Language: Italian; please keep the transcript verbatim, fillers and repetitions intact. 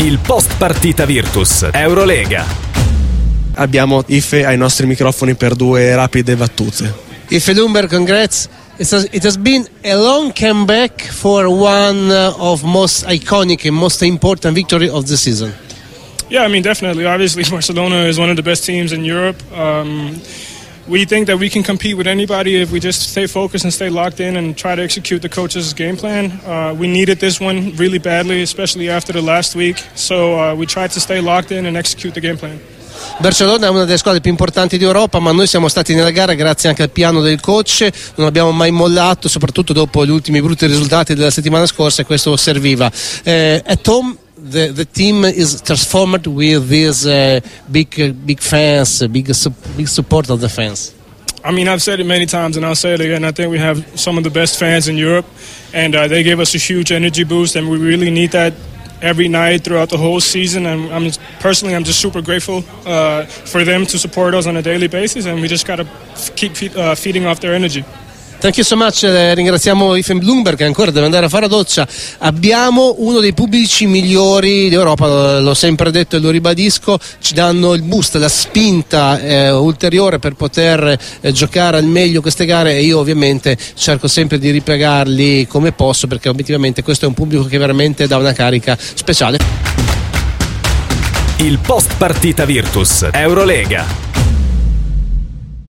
Il post partita Virtus Eurolega. Abbiamo Ife ai nostri microfoni per due rapide battute. Ife Lundberg, congrats. It has, it has been a long comeback for one of most iconic and most important victory of the season. Yeah, I mean, definitely. Obviously, Barcelona is one of the best teams in Europe. Um, we think that we can compete with anybody if we just stay focused and stay locked in and try to execute the coach's game plan. Uh, we needed this one really badly, especially after the last week. So uh, we tried to stay locked in and execute the game plan. Barcellona è una delle squadre più importanti d'Europa, ma noi siamo stati nella gara grazie anche al piano del coach, non abbiamo mai mollato, soprattutto dopo gli ultimi brutti risultati della settimana scorsa, e questo serviva. Eh, at home the, the team is transformed with these uh, big, big fans, big, big support of the fans. I mean, I've said it many times and I'll say it again. I think we have some of the best fans in Europe, and uh, they give us a huge energy boost, and we really need that every night throughout the whole season. And I'm personally, I'm just super grateful uh, for them to support us on a daily basis, and we just gotta f- keep fe- uh, feeding off their energy. Thank you so much, eh, ringraziamo Ife Lundberg che ancora deve andare a fare la doccia. Abbiamo uno dei pubblici migliori d'Europa, l'ho sempre detto e lo ribadisco, ci danno il boost, la spinta eh, ulteriore per poter eh, giocare al meglio queste gare, e io ovviamente cerco sempre di ripiegarli come posso, perché obiettivamente questo è un pubblico che veramente dà una carica speciale. Il post partita Virtus Eurolega.